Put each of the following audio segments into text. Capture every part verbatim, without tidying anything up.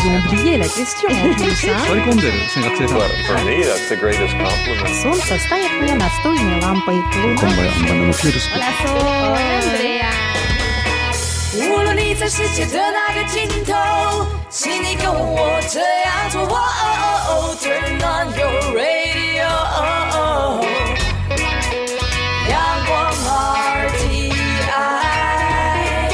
ont oublié la question en plus, hein? For me, that's the greatest compliment. Солнце стоит мне настольной лампой. Hola, Sol. Andrea. 无论你在世界的哪个尽头，请你跟我这样做。Turn on your radio. 阳光 R T I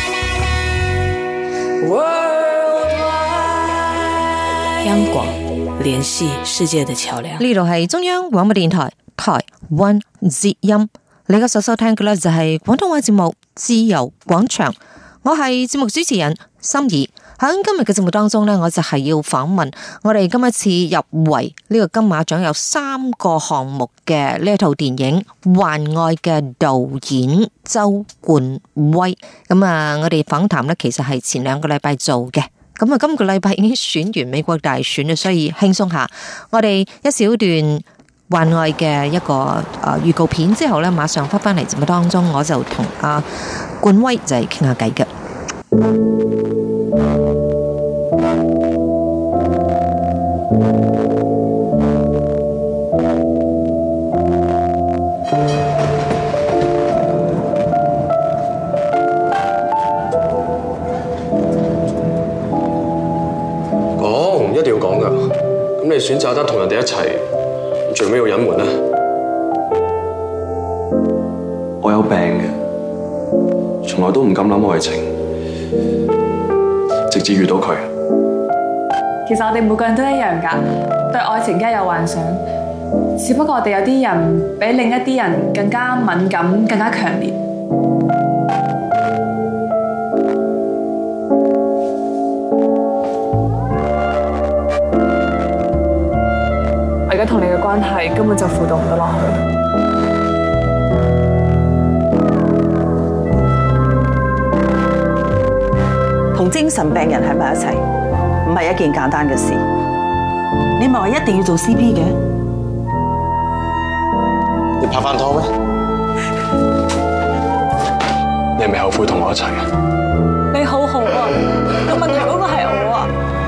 Worldwide。 央廣聯繫世界的橋樑。 呢度係中央廣播電台台灣之音，你而家所收聽嘅咧就係廣東話節目《自由廣場》，我係節目主持人心怡。喺今日嘅節目當中呢，我就係要訪問我哋今一次入圍呢個金馬獎有三個項目嘅呢一套電影《幻愛》嘅導演周冠威。咁啊，我哋訪談呢其實係前兩個禮拜做嘅。咁啊，今個禮拜已經選完美國大選啦，所以輕鬆下。我哋一小段《幻愛》嘅一個誒預告片之後呢，馬上翻返嚟節目當中，我就同阿冠威就係傾下偈嘅。 講一定要講噶，咁你選擇得同人哋一齊，最尾要隱瞞呢？我有病嘅，從來都唔敢諗愛情，直至遇到佢。 其實我哋每個人都一樣㗎，對愛情梗係有幻想，只不過我哋有啲人比另一啲人更加敏感、更加強烈。我而家同你嘅關係根本就輔導唔到落去。 同精神病人喺埋一齊，唔係一件簡單嘅事。你咪話一定要做 C P 嘅？ 你拍翻拖咩？你係咪後悔同我一齊啊？ 你好好啊，有問題嗰個係我啊。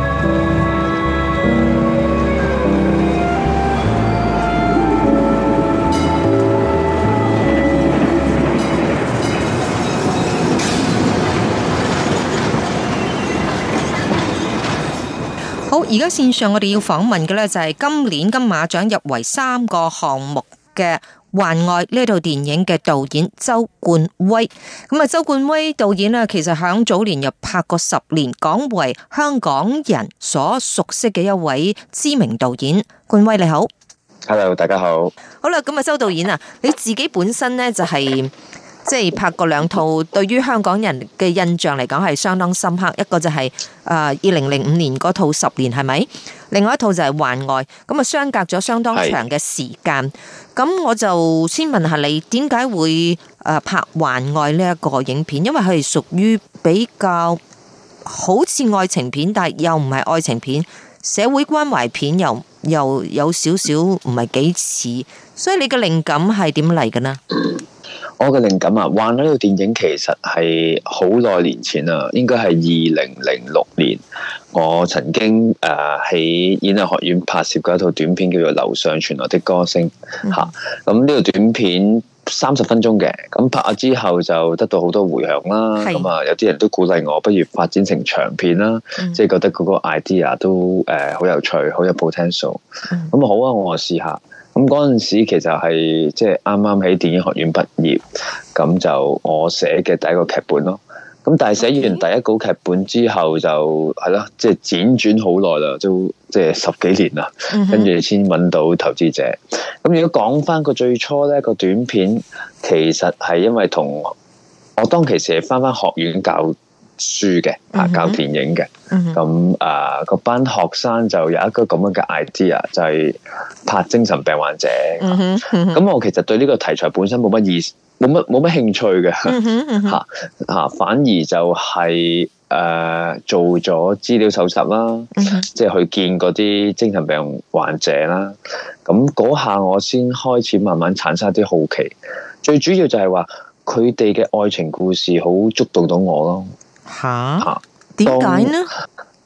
好，而家線上我哋要訪問嘅呢，就係今年金馬獎入圍三個項目嘅《幻愛》呢套電影嘅導演周冠威。咁啊，周冠威導演呢，其實響早年又拍過十年，廣為香港人所熟悉嘅一位知名導演。冠威你好。 Hello， 大家好。 好啦，咁啊，周導演啊，你自己本身呢，就係、是。即係拍過兩套，對於香港人嘅印象嚟講係相當深刻。一個就係誒二零零五年嗰套十年係咪？另外一套就係幻愛。咁啊，相隔咗相當長嘅時間。咁我就先問下你，點解會誒拍幻愛呢一個影片？因為佢係屬於比較好似愛情片，但係又唔係愛情片，社會關懷片又又有少少唔係幾似。所以你嘅靈感係點嚟嘅呢？ 我嘅靈感啊，《幻愛》呢套電影其實係好耐年前啦，應該係二零零六年，我曾經誒喺演藝學院拍攝過一套短片，叫做《樓上傳來的歌聲》嚇。咁呢套短片三十分鐘嘅，咁拍咗之後就得到好多迴響啦。咁啊，有啲人都鼓勵我不如發展成長片啦，即係覺得嗰個 idea 都誒好有趣，好有 potential。咁好啊，我試下。咁嗰陣時其實係即係啱啱喺電影學院畢業，咁就我寫嘅第一個劇本咯。咁但係寫完第一稿劇本之後就係咯，即係輾轉好耐啦，都即係十幾年啦，跟住先揾到投資者。咁如果講翻個最初咧，個短片其實係因為同我當其時係翻翻學院教書嘅，啊教電影嘅，咁啊嗰班學生就有一個咁樣嘅 idea， 就係拍精神病患者。咁、嗯嗯、我其實對呢個題材本身冇乜意思，冇乜冇乜興趣嘅，吓吓、嗯啊，反而就係、是、誒、呃、做咗資料搜集啦，即、嗯、係去見嗰啲精神病患者啦。咁嗰下我先開始慢慢產生一啲好奇，最主要就係話佢哋嘅愛情故事好觸動到我咯。 吓？點解呢？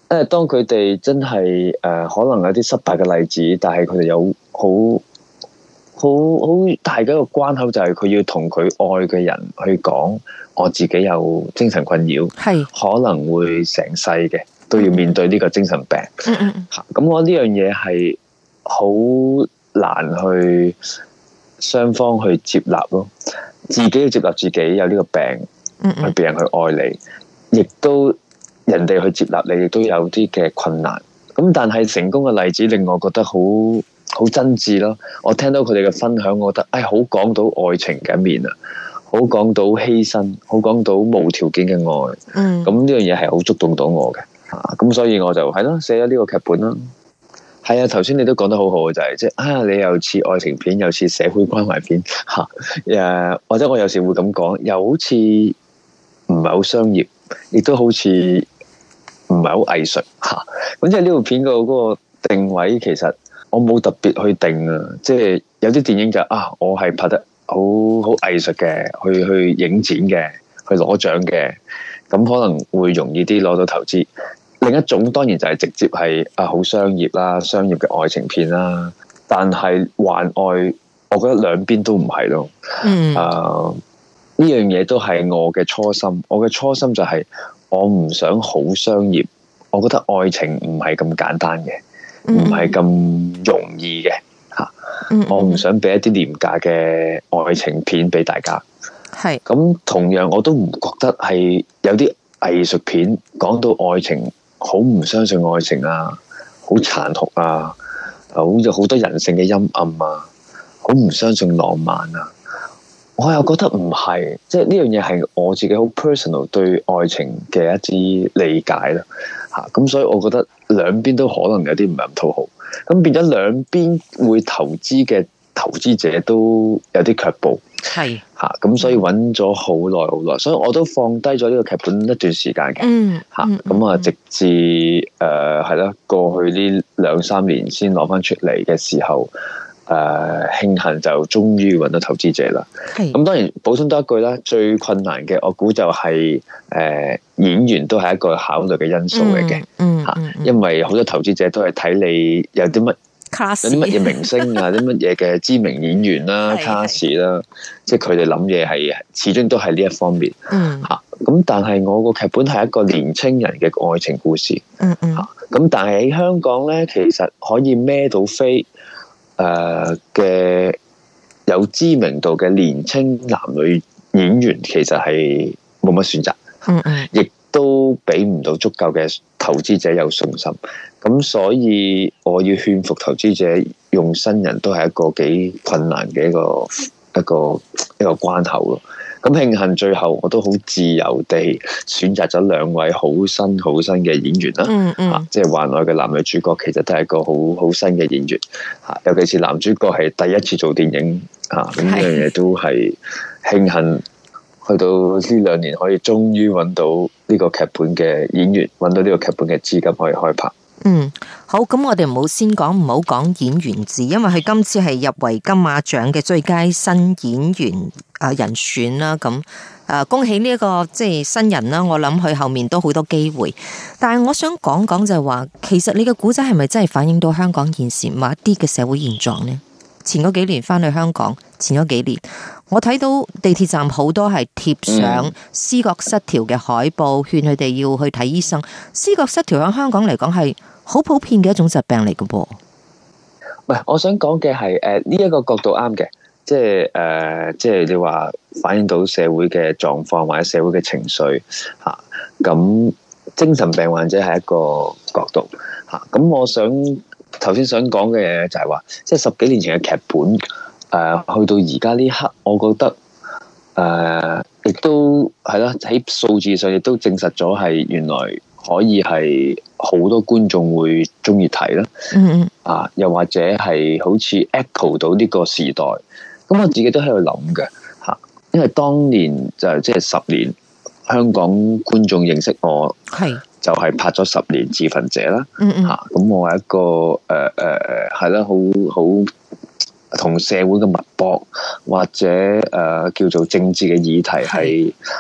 誒，當佢哋真係誒、呃，可能有啲失敗嘅例子，但係佢哋有好好好大嘅一個關口，就係佢要同佢愛嘅人去講，我自己有精神困擾，係可能會成世嘅都要面對呢個精神病。嗯嗯，咁我呢樣嘢係好難去雙方去接納咯，自己要接納自己有呢個病，嗯嗯，去別人去愛你，亦都。人哋去接納你，亦都有啲嘅困難。咁但係成功嘅例子令我覺得好好真摯咯。我聽到佢哋嘅分享，我覺得，哎，好講到愛情嘅一面啊，好講到犧牲，好講到無條件嘅愛。嗯，咁呢樣嘢係好觸動到我嘅。啊，咁所以我就係咯，寫咗呢個劇本啦。係啊，頭先你都講得好好嘅就係即係啊，你又似愛情片，又似社會關懷片嚇。誒、啊，或者我有時會咁講，又好似唔係好商業，亦都好似。唔係好藝術嚇，咁即係呢部片個嗰個定位，其實我冇特別去定啊。即係有啲電影就啊，我係拍得好好藝術嘅，去去影展嘅，去攞獎嘅，咁可能會容易啲攞到投資。另一種當然就係直接係啊好商業啦，商業嘅愛情片啦。但係幻愛，我覺得兩邊都唔係咯。嗯啊，呢樣嘢都係我嘅初心。我嘅初心就係、是。我唔想好商業，我覺得愛情唔係咁簡單嘅，唔係咁容易嘅吓。Mm-hmm. 我唔想俾一啲廉價嘅愛情片俾大家。係咁，同樣我都唔覺得係有啲藝術片講到愛情好唔相信愛情啊，好殘酷啊，好有好多人性嘅陰暗啊，好唔相信浪漫啊。我又覺得唔係，即係呢樣嘢係我自己好 personal 對愛情嘅一啲理解啦，嚇咁所以我覺得兩邊都可能有啲唔係咁討好，咁變咗兩邊會投資嘅投資者都有啲卻步，係嚇咁所以揾咗好耐好耐，所以我都放低咗呢個劇本一段時間嘅，嗯嚇咁啊直至誒係啦過去呢兩三年先攞翻出嚟嘅時候。誒、uh, 慶幸就終於揾到投資者啦。咁當然補充多一句啦，最困難嘅我估就係、是、誒、呃、演員都係一個考慮嘅因素嚟嘅。嗯，嚇、嗯嗯，因為好多投資者都係睇你有啲乜有啲乜嘢明星啊，啲乜嘢嘅知名演員啦、卡士啦，即係佢哋諗嘢係始終都係呢一方面。嗯，嚇咁但係我個劇本係一個年青人嘅愛情故事。嗯嗯，嚇咁但係喺香港咧，其實可以孭到飛。誒嘅、uh, 有知名度嘅年青男女演員其實係冇乜選擇，嗯嗯，亦都俾唔到足夠嘅投資者有信心，咁所以我要勸服投資者用新人都係一個幾困難嘅一個一個一個關口咯。咁慶幸最後我都好自由地選擇咗兩位好新好新嘅演員啦，嗯嗯，啊、即係幻愛嘅男女主角其實都係一個好好新嘅演員，嚇，尤其是男主角係第一次做電影，嚇，咁呢樣嘢都係慶幸，去到呢兩年可以終於揾到呢個劇本嘅演員，揾到呢個劇本嘅資金可以開拍。 嗯，好，咁我哋唔好先講，唔好講演員字，因為佢今次係入圍金馬獎嘅最佳新演員啊人選啦，咁誒恭喜呢一個即係新人啦，我諗佢後面都好多機會。但係我想講講就係話，其實你嘅古仔係咪真係反映到香港現時某一啲嘅社會現狀呢？前嗰幾年翻去香港，前嗰幾年我睇到地鐵站好多係貼上思覺失調嘅海報，勸佢哋要去睇醫生。思覺失調喺香港嚟講係好普遍嘅一種疾病嚟嘅噃。 唔係，我想講嘅係誒呢一個角度啱嘅，即係誒、呃、即係你話反映到社會嘅狀況或者社會嘅情緒嚇。咁、啊、精神病患者係一個角度嚇。咁、啊、我想。頭先想講嘅嘢就係話，即係十幾年前嘅劇本，誒、呃，去到而家呢刻，我覺得誒，亦、呃、都係啦，喺數字上亦都證實咗係原來可以係好多觀眾會中意睇啦。嗯嗯。啊，又或者係好似 echo 到呢個時代，咁我自己都喺度諗嘅嚇，因為當年就即係十年，香港觀眾認識我係。就係拍咗十年自焚者啦，嚇、嗯！咁、嗯、我係一個誒誒誒係啦，好好同社會嘅脈搏或者誒、呃、叫做政治嘅議題係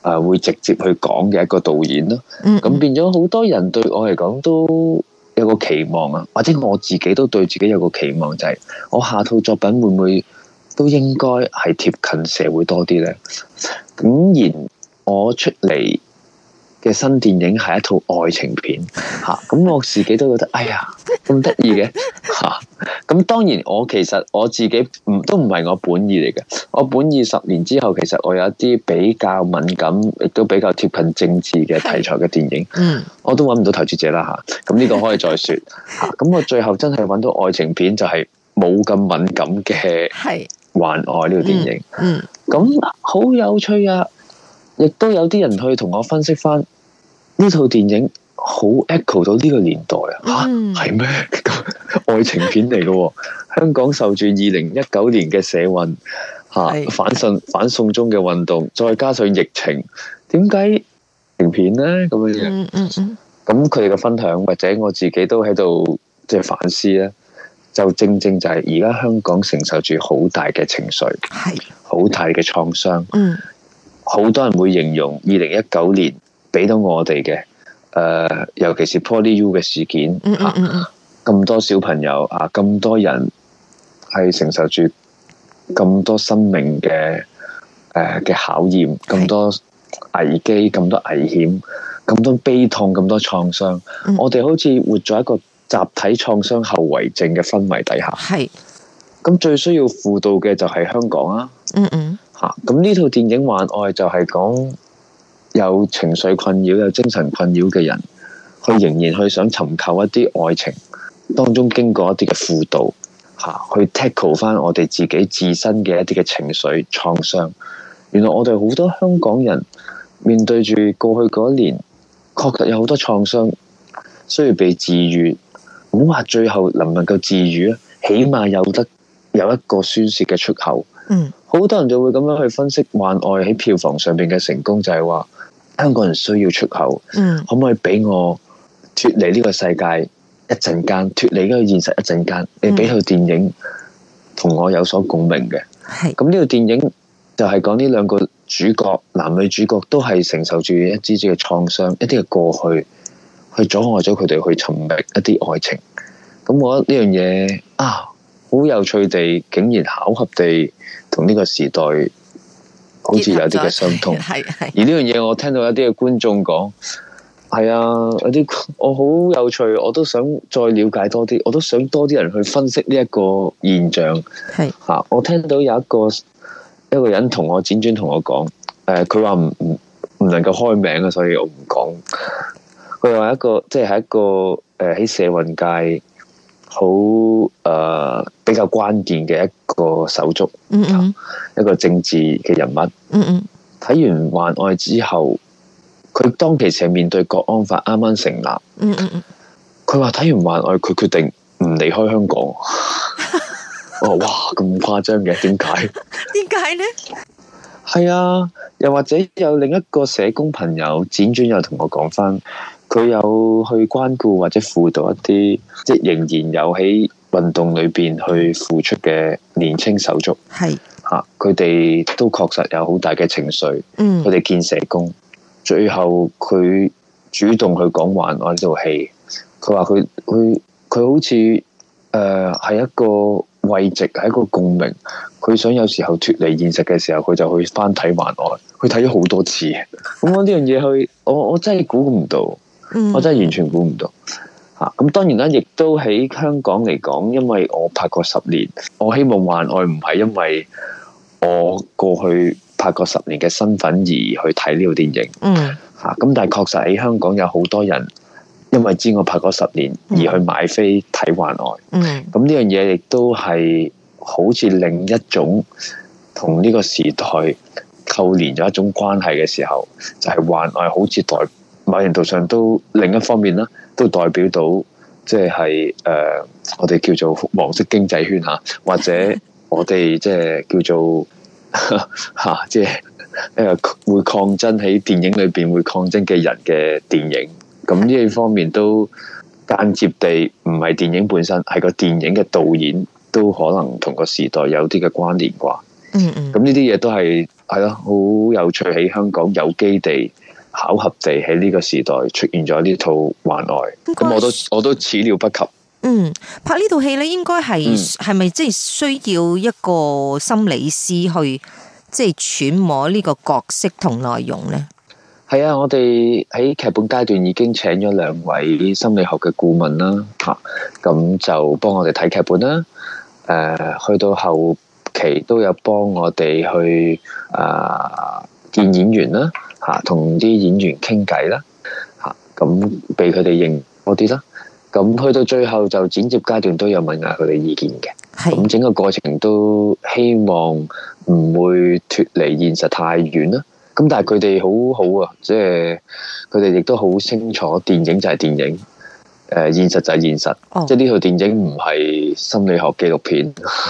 誒會直接去講嘅一個導演咯。咁、嗯、變咗好多人對我嚟講都有個期望啊，或者我自己都對自己有個期望，就係、是、我下套作品會唔會都應該係貼近社會多啲呢？咁然我出嚟嘅新電影係一套愛情片嚇，咁、啊、我自己都覺得哎呀咁得意嘅嚇。咁、啊、當然我其實我自己唔都唔係我本意嚟嘅，我本意十年之後其實我有一啲比較敏感，亦都比較貼近政治嘅題材嘅電影，嗯，我都揾唔到投資者啦嚇。咁、啊、呢個可以再説嚇。咁、啊、我最後真係揾到愛情片就係冇咁敏感嘅《幻愛》呢套電影，嗯，咁、嗯、好有趣啊！亦都有啲人去同我分析翻。呢套電影好 echo 到呢個年代啊！嚇係咩？愛情片嚟嘅喎，香港受住二零一九年嘅社運嚇、啊、反送反送中嘅運動，再加上疫情，點解愛情片咧咁樣樣？嗯嗯嗯。咁佢哋嘅分享，或者我自己都喺度即係反思咧，就正正就係而家香港承受住好大嘅情緒，係好大嘅創傷。嗯，好多人會形容二零一九年。俾到我哋嘅，誒、呃，尤其是 PolyU 嘅事件，嚇、嗯嗯嗯，咁、啊、多小朋友啊，咁多人係承受住咁多生命嘅誒嘅考驗，咁多危機，咁多危險，咁多悲痛，咁多創傷，嗯、我哋好似活在一個集體創傷後遺症嘅氛圍底下。係，咁最需要輔導嘅就係香港啊。嗯嗯，嚇、啊，咁呢套電影《幻愛》就係講。有情緒困擾、有精神困擾嘅人，佢仍然去想尋求一啲愛情當中經過一啲嘅輔導，嚇去 tackle 翻我哋自己自身嘅一啲嘅情緒創傷。原來我哋好多香港人面對住過去嗰一年，確實有好多創傷需要被治癒。唔好話最後能唔能夠治癒啊，起碼有得有一個宣泄嘅出口。嗯，好多人就會咁樣去分析《幻愛》喺票房上邊嘅成功，就係話。香港人需要出口，嗯、可唔可以俾我脫離呢個世界一陣間，脫離呢個現實一陣間？你俾套電影同我有所共鳴嘅，咁呢套電影就係講呢兩個主角，男女主角都係承受住一啲啲嘅創傷，一啲嘅過去，去阻礙咗佢哋去尋覓一啲愛情。咁我覺得呢樣嘢啊，好有趣地，竟然巧合地同呢個時代。好似有啲嘅相通，係係。而呢樣嘢，我聽到一啲嘅觀眾講，係啊，有啲我好有趣，我都想再了解多啲，我都想多啲人去分析呢一個現象。係嚇、啊，我聽到有一個一個人同我輾轉同我講，誒，佢話唔唔唔能夠開名啊，所以我唔講。佢話一個即係喺一個誒喺社運界。好誒、呃，比較關鍵嘅一個手足，嗯嗯，一個政治嘅人物，嗯嗯。睇完《幻愛》之後，佢當其時係面對國安法啱啱成立，嗯嗯嗯。佢話睇完《幻愛》，佢決定唔離開香港。我話哇，咁誇張嘅，點解？點解呢？係啊，又或者有另一個社工朋友輾轉又同我講翻。佢有去關顧或者輔導一啲，即係仍然有喺運動裏邊去付出嘅年青手足。係嚇，佢哋都確實有好大嘅情緒。嗯，佢哋見社工，最後佢主動去講《幻愛》呢套戲。佢話佢佢佢好似誒係一個慰藉，係一個共鳴。佢想有時候脫離現實嘅時候，佢就去翻睇《幻愛》。佢睇咗好多次。咁我呢樣嘢去，我我真係估唔到。我真係完全估唔到嚇，咁當然啦，亦都喺香港嚟講，因為我拍過十年，我希望《幻愛》唔係因為我過去拍過十年嘅身份而去睇呢套電影。嗯嚇，咁但係確實喺香港有好多人因為知我拍過十年而去買飛睇《幻愛》。嗯，咁呢樣嘢亦都係好似另一種同呢個時代扣連咗一種關係嘅時候，就係、是《幻愛》好似代。某程度上都另一方面啦，都代表到即係誒我哋叫做黃色經濟圈嚇，或者我哋即係叫做嚇，即係誒會抗爭喺電影裏邊會抗爭嘅人嘅電影。咁呢一方面都間接地唔係電影本身，係個電影嘅導演都可能同個時代有啲嘅關聯啩。 嗯嗯。 咁呢啲嘢都係係咯，好有趣，喺香港有機地巧合地喺呢個時代出現咗呢套《幻愛》，咁我都我都始料不及。 嗯，拍呢套戲咧，應該係係咪即係需要一個心理師去即係揣摩呢個角色同內容咧？ 係啊，我哋喺劇本階段已經請咗兩位心理學嘅顧問啦，吓，咁就幫我哋睇劇本啦。誒、呃，去到後期都有幫我哋去誒見演員啦，吓，同啲演員傾偈啦，吓，咁俾佢哋認多啲啦。咁去到最後就剪接階段都有問下佢哋意見嘅，咁整個過程都希望唔會脫離現實太遠啦。咁但係佢哋好好啊，即係佢哋亦都好清楚電影就係電影，誒、呃、現實就係現實，哦、即係呢套電影唔係心理學紀錄片。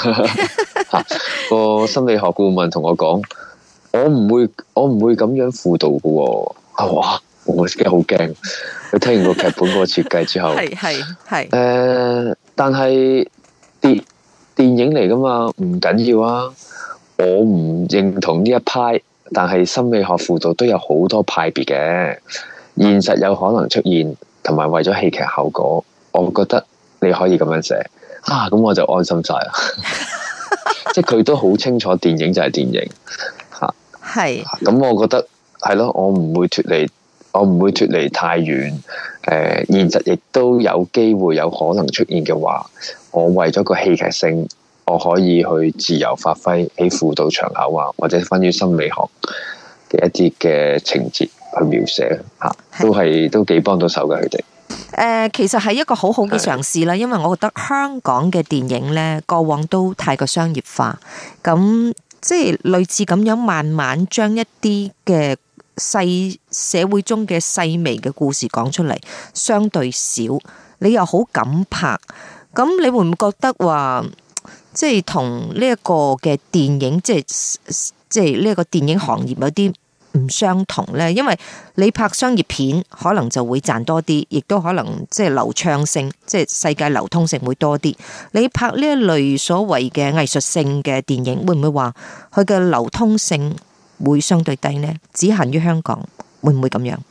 個心理學顧問同我講，我唔會我唔會咁樣輔導嘅喎。哇！我自己好驚，佢聽完個劇本嗰個設計之後，係係係誒，但係電電影嚟噶嘛，唔緊要啊。我唔認同呢一派，但係心理學輔導都有好多派別嘅，現實有可能出現，同埋為咗戲劇效果，我覺得你可以咁樣寫啊，咁我就安心晒啦。即係佢都好清楚，電影就係電影吓，係咁，我覺得係咯，我唔會脫離。我唔會脫離太遠，誒、呃，現實亦都有機會有可能出現嘅話，我為咗個戲劇性，我可以去自由發揮喺輔導場口啊，或者關於心理學嘅一啲嘅情節去描寫嚇，都係都幾幫到手嘅佢哋。誒、 呃，其實係一個好好嘅嘗試啦，因為我覺得香港嘅電影咧，過往都太過商業化，咁即係類似咁樣慢慢將一啲嘅細社會中嘅細微嘅故事講出嚟，相對少，你又好敢拍，咁你會唔會覺得話，即係同呢一個嘅電影，即係即係呢一個電影行業有啲唔相同呢？因為你拍商業片可能就會賺多啲，亦都可能即係流暢性，即係世界流通性會多啲。你拍呢一類所謂嘅藝術性嘅電影，會唔會話佢嘅流通性會相對低呢？只限於香港，會唔會咁樣？誒、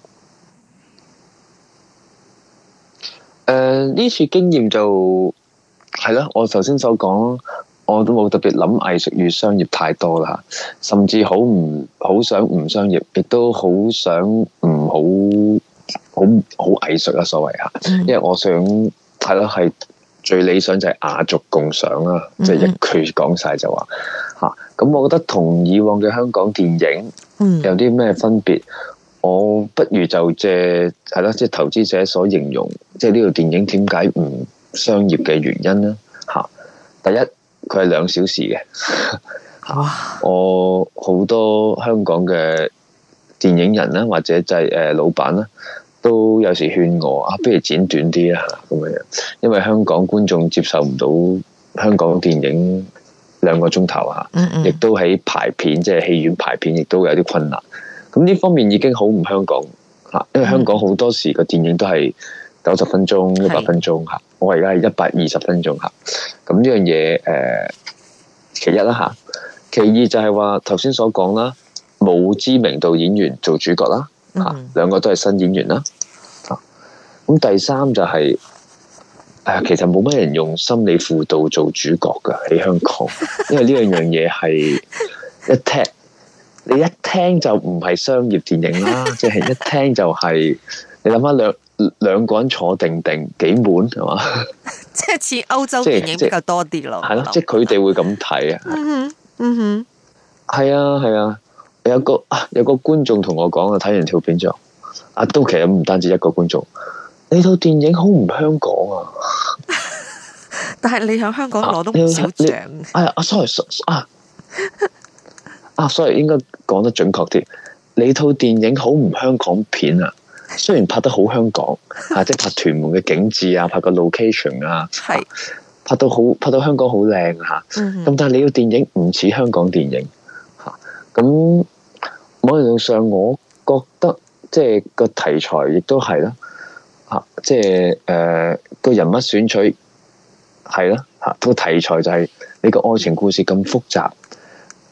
呃，呢次經驗就係啦，我頭先所講，我都冇特別諗藝術與商業太多啦，甚至好唔好想唔商業，亦都好想唔好好好藝術啦，所謂吓，因為我想係咯，係最理想就係雅俗共賞啦，即係、嗯、一句講晒就話吓。咁我覺得同以往嘅香港電影有啲咩分別？嗯、我不如就借係咯，即係投資者所形容，即係呢套電影點解唔商業嘅原因咧？吓，第一佢係兩小時嘅。哇！我好多香港嘅電影人啦，或者就係誒老闆啦，都有時勸我啊，不如剪短啲啦咁樣，因為香港觀眾接受唔到香港電影兩個鐘頭啊，亦都喺排片，即係戲院排片，亦都有啲困難。咁呢方面已經好唔香港嚇，因為香港好多時個電影都係九十分鐘、一百分鐘嚇，我而家係一百二十分鐘嚇。咁呢樣嘢誒，其一啦嚇，其二就係話頭先所講啦，冇知名度演員做主角啦嚇，兩個都係新演員啦。咁第三就係、是。誒，其實冇乜人用心理輔導做主角噶喺香港，因為呢樣樣嘢係一聽，你一聽就唔係商業電影啦，即係一聽就係、是、你諗下兩兩個人坐定定幾悶係嘛？ 即係似歐洲電影比較多啲咯。係咯， 即係佢哋會咁睇啊。 嗯哼，嗯哼， 係啊係啊，有個啊有個觀眾同我講啊，睇完條片之後，啊都其實唔單止一個觀眾。呢套電影好唔香港啊！ 但係你喺香港攞到唔少獎。 哎呀，啊，sorry，啊，啊，sorry，應該講得準確啲。你套電影好唔香港片啊？雖然拍得好香港，啊，即係拍屯門嘅景緻啊，拍個 location 啊，係拍到好，拍到香港好靚吓。咁但係你個電影唔似香港電影吓。咁某程度上，我覺得即係個題材亦都係啦。啊，即係誒個人物選取係啦，吓個題材就係你個愛情故事咁複雜，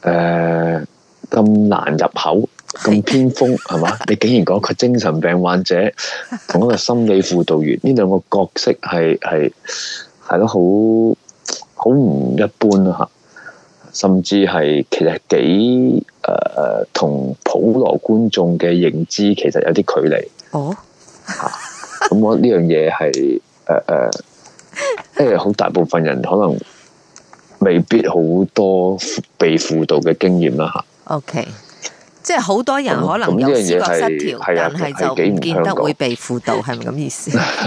誒咁難入口，咁偏鋒係嘛？你竟然講個精神病患者同一個心理輔導員呢兩個角色係係係咯，好好唔一般咯嚇，甚至係其實幾誒同普羅觀眾嘅認知其實有啲距離。 哦， 嚇咁我呢樣嘢係誒誒，因為好大部分人可能未必好多被輔導嘅經驗啦嚇。 OK， 即係好多人可能有思覺失調，但係就唔見得會被輔導，係咪咁意思？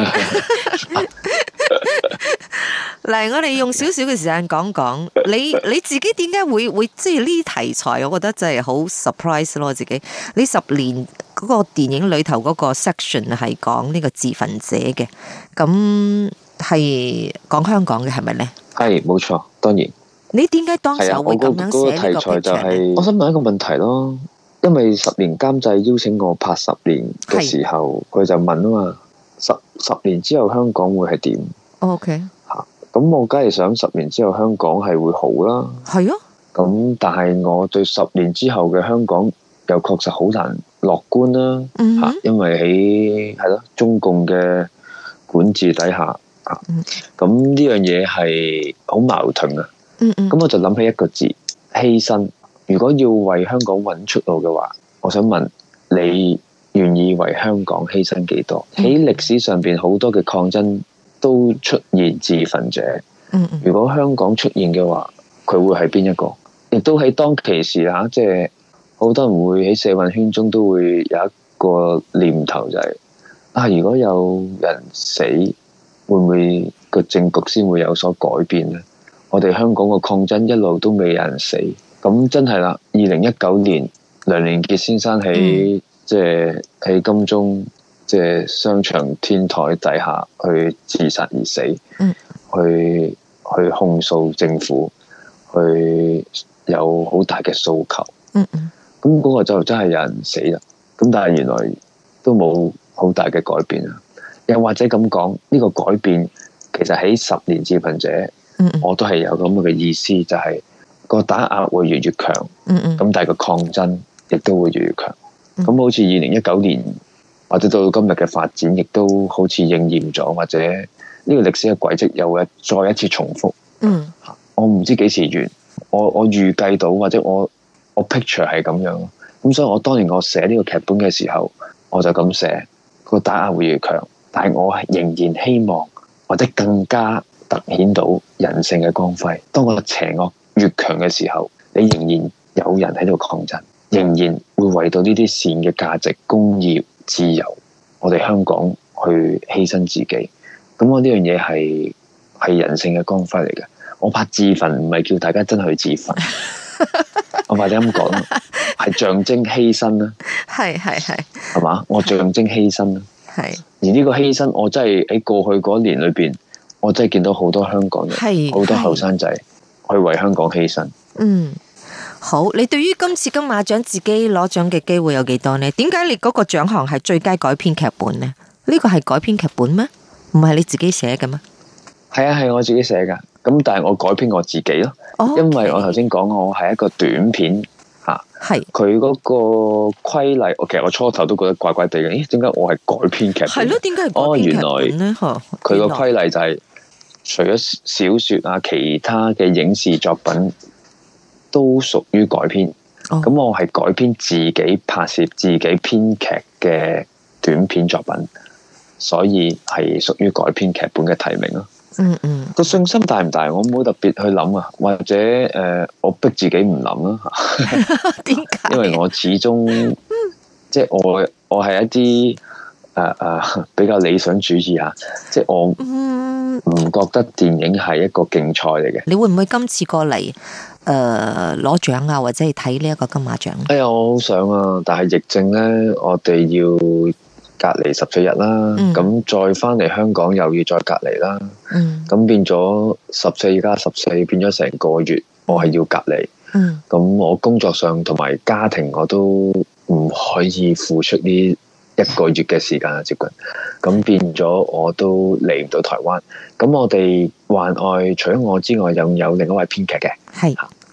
嚟，我哋用少少嘅時間講講，你你自己點解會會即係呢啲題材？我覺得真係好 surprise 咯，自己你十年嗰個電影裏頭嗰個 section 係講呢個自焚者嘅，咁係講香港嘅係咪呢？ 係冇錯，當然。 你點解當時會咁樣寫呢個題材呢？ 我想問一個問題咯，因為十年監製邀請我拍十年嘅時候，佢就問啊嘛，十十年之後香港會係點 ？OK。 咁我梗係想十年之後香港係會好啦， 係啊。 咁但係我對十年之後嘅香港又確實好難樂觀啦，吓、嗯哼，因為喺係咯中共嘅管治底下，啊、嗯，咁呢樣嘢係好矛盾啊。嗯嗯。咁我就諗起一個字：犧牲。如果要為香港揾出路嘅話，我想問你願意為香港犧牲幾多？喺歷、嗯、史上邊好多嘅抗爭都出現自焚者，嗯嗯，如果香港出現嘅話，佢會係邊一個？亦都喺當其時嚇，即係好多人會喺社運圈中都會有一個念頭，就係、是、啊，如果有人死，會唔會個政局先會有所改變呢？我哋香港個抗爭一路都未有人死，咁真係啦。二零一九年，梁連傑先生喺、嗯、即係喺金鐘。即係商場天台底下去自殺而死，嗯、去去控訴政府，去有好大嘅訴求。嗯嗯，咁嗰個就真係有人死啦。咁但係原來都冇好大嘅改變啊。又或者咁講，呢個改變其實喺十年自焚者，嗯嗯，我都係有咁嘅意思，就係個打壓會越嚟越強。嗯嗯，咁但係個抗爭亦都會越嚟越強。咁好似二零一九年。或者到今日嘅發展，亦都好似應驗咗，或者呢個歷史嘅軌跡又會再一次重複。嗯，我唔知幾時完，我我預計到，或者我我 picture 係咁樣。咁所以我當年我寫呢個劇本嘅時候，我就咁寫，個打壓會越強，但係我仍然希望，或者更加凸顯到人性嘅光輝。當個邪惡越強嘅時候，你仍然有人喺度抗爭，仍然會為到呢啲善嘅價值、公義、自由，我哋香港去犧牲自己，咁我呢樣嘢係係人性嘅光輝嚟嘅。我拍自焚唔係叫大家真係去自焚，我或者咁講，係象徵犧牲啦。係係係，係嘛？我象徵犧牲啦。係。而呢個犧牲，我真係喺過去嗰年裏邊，我真係見到好多香港人，好多後生仔去為香港犧牲。嗯。 好，你對於今次金馬獎自己攞獎嘅機會有幾多呢？點解你嗰個獎項係最佳改編劇本呢？呢個係改編劇本咩？唔係你自己寫嘅咩？ 係啊，係我自己寫噶。咁但係我改編我自己咯。哦、因為我頭先講我係一個短片吓，係佢嗰個規例，其實我初頭都覺得怪怪地嘅。咦，點解我係改編劇本？係咯，點解係改編劇本呢？哦，原來佢個規例就係、是、除咗小說啊，其他嘅影視作品。都屬於改編，咁、oh. 我係改編自己拍攝、自己編劇嘅短片作品，所以係屬於改編劇本嘅提名咯。嗯嗯，個信心大唔大？我冇特別去諗啊，或者誒、呃，我逼自己唔諗啦。點解？因為我始終即係我我係一啲誒誒比較理想主義啊，即係我唔覺得電影係一個競賽嚟嘅。你會唔會今次過嚟？誒，攞獎啊，或者係睇呢一個金馬獎？哎呀，我好想啊，但係疫症咧，我哋要隔離十四日啦，咁、嗯、再翻嚟香港又要再隔離啦，咁、嗯、變咗十四加十四，變咗成個月，我係要隔離。咁、嗯、我工作上同埋家庭我都唔可以付出呢一個月嘅時間啊，接近，咁變咗我都嚟唔到台灣。咁我哋幻愛除咗我之外，有有另一位編劇嘅，係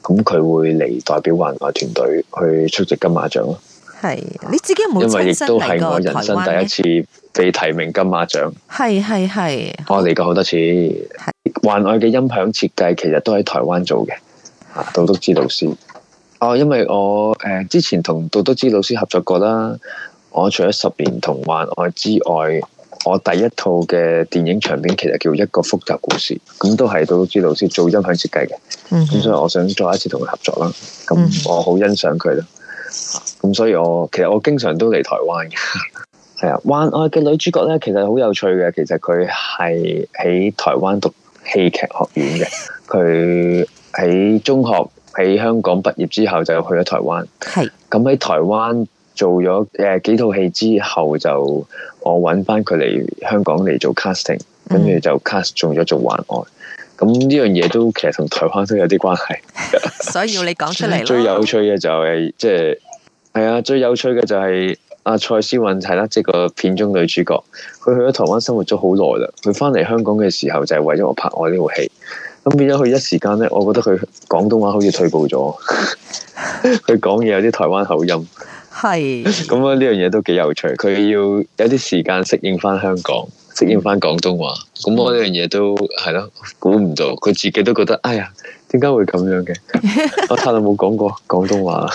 咁佢會嚟代表環外團隊去出席金馬獎咯。 係你自己有冇親身嚟過台灣？因為亦都係我人生第一次被提名金馬獎。係係係，我嚟過好多次。環外嘅音響設計其實都喺台灣做嘅，啊，杜篤之老師。哦，因為我誒、呃、之前同杜篤之老師合作過啦。我除咗十年同環外之外，我第一套嘅電影長片其實叫一個複雜故事，咁都係杜篤之老師做音響設計嘅。咁、嗯、所以我想再一次同佢合作啦。咁我好欣賞佢咯。咁所以我其實我經常都嚟台灣嘅。係啊，環外嘅女主角咧，其實好有趣嘅。其實佢係喺台灣讀戲劇學院嘅。佢喺中學喺香港畢業之後就去咗台灣。係。咁喺台灣做咗誒幾套戲之後，就我揾翻佢嚟香港嚟做 casting，跟住就 cast 中咗做環外。咁呢樣嘢都其實同台灣都有啲關係。所以要你講出嚟。最有趣嘅就係即係係啊，最有趣嘅就係阿蔡思韻係啦，即係個片中女主角。佢去咗台灣生活咗好耐啦，佢翻嚟香港嘅時候就係為咗我拍我呢套戲。咁變咗佢一時間咧，我覺得佢廣東話好似退步咗，佢講嘢有啲台灣口音。係。咁啊，呢樣嘢都幾有趣。佢要有啲時間適應翻香港，適應翻廣東話。咁我呢樣嘢都係咯，估唔到佢自己都覺得，哎呀，點解會咁樣嘅？我太耐冇講過廣東話。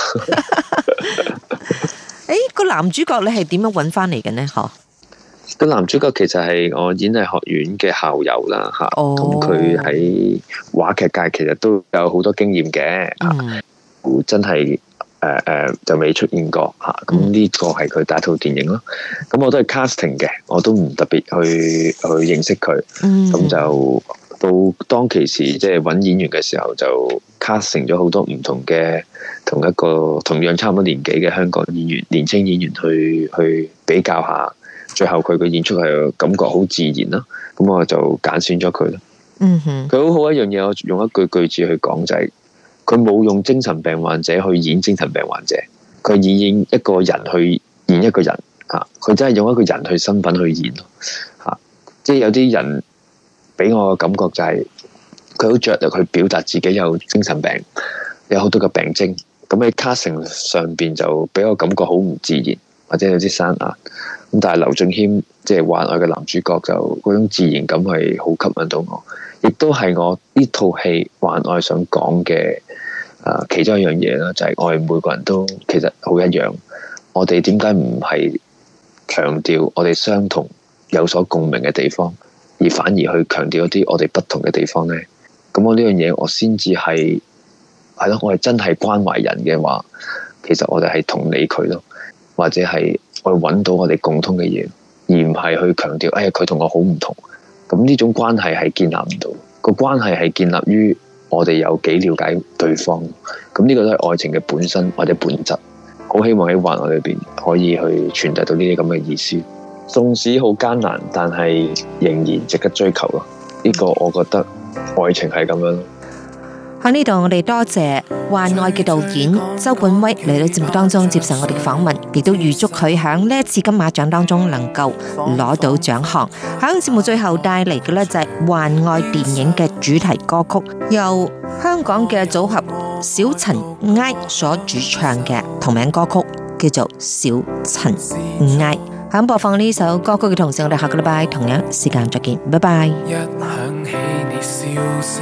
誒，個男主角你係點樣揾翻嚟嘅呢？嗬？個男主角其實係我演藝學院嘅校友啦，吓，咁佢喺話劇界其實都有好多經驗嘅，嗯、真係誒誒就未出現過吓，咁呢個係佢第一套電影咯。咁我都係 casting 嘅，我都唔特別去去認識佢，咁、嗯、就到當其時即係揾演員嘅時候，就 casting 咗好多唔同嘅同一個同樣差唔多年紀嘅香港演員、年輕演員去去比較下。最後佢嘅演出係感覺好自然啦，咁我就揀選咗佢咯。嗯哼，佢好好一樣嘢，我用一句句子去講就係，佢冇用精神病患者去演精神病患者，佢以演一個人去演一個人啊，佢真係用一個人去身份去演咯。吓、啊，即係有啲人俾我嘅感覺就係，佢好着力去表達自己有精神病，有好多嘅病徵，咁喺 casting 上邊就俾我感覺好唔自然，或者有啲生硬。咁但係劉俊謙即係環外嘅男主角，就嗰種自然感係好吸引到我，亦都係我呢套戲環外想講嘅誒其中一樣嘢啦，就係、是、我哋每個人都其實好一樣。我哋點解唔係強調我哋相同有所共鳴嘅地方，而反而去強調一啲我哋不同嘅地方呢？咁我呢樣嘢我先至係係咯，我係真係關懷人嘅話，其實我哋係同理佢咯，或者係。去揾到我哋共通嘅嘢，而唔係去強調，哎呀佢同我好唔同。咁呢種關係係建立唔到，個關係係建立於我哋有幾了解對方。咁呢個都係愛情嘅本身或者本質。好希望喺環外裏邊可以去傳遞到呢啲咁嘅意思。縱使好艱難，但係仍然值得追求咯。呢個我覺得愛情係咁樣咯。喺呢度，我哋多謝環外嘅導演周冠威嚟到節目當中接受我哋嘅訪問，亦都預祝佢喺呢一次金馬獎當中能夠攞到獎項。喺節目最後帶嚟嘅呢就係環外電影嘅主題歌曲，由香港嘅組合小塵埃所主唱嘅同名歌曲，叫做《小塵埃》。喺播放呢首歌曲嘅同時，我哋下個禮拜同樣時間再見，拜拜。一響起你笑聲，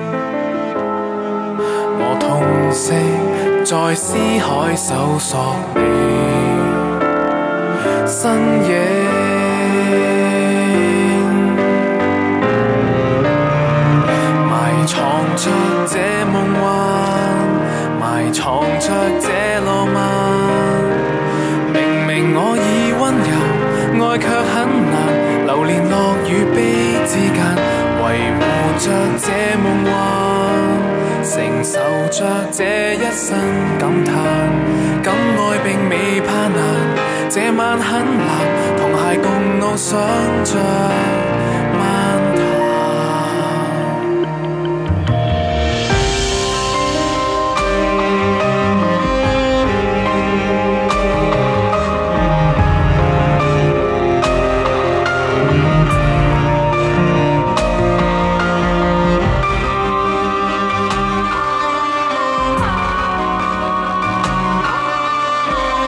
我痛惜在思海搜索你身影，埋藏着這夢幻，埋藏着這浪漫。明明我已溫柔，愛卻很難，流連樂與悲之間，維護着這夢幻，承受着這一生感嘆，敢愛並未怕難，這晚很藍，同偕共怒想着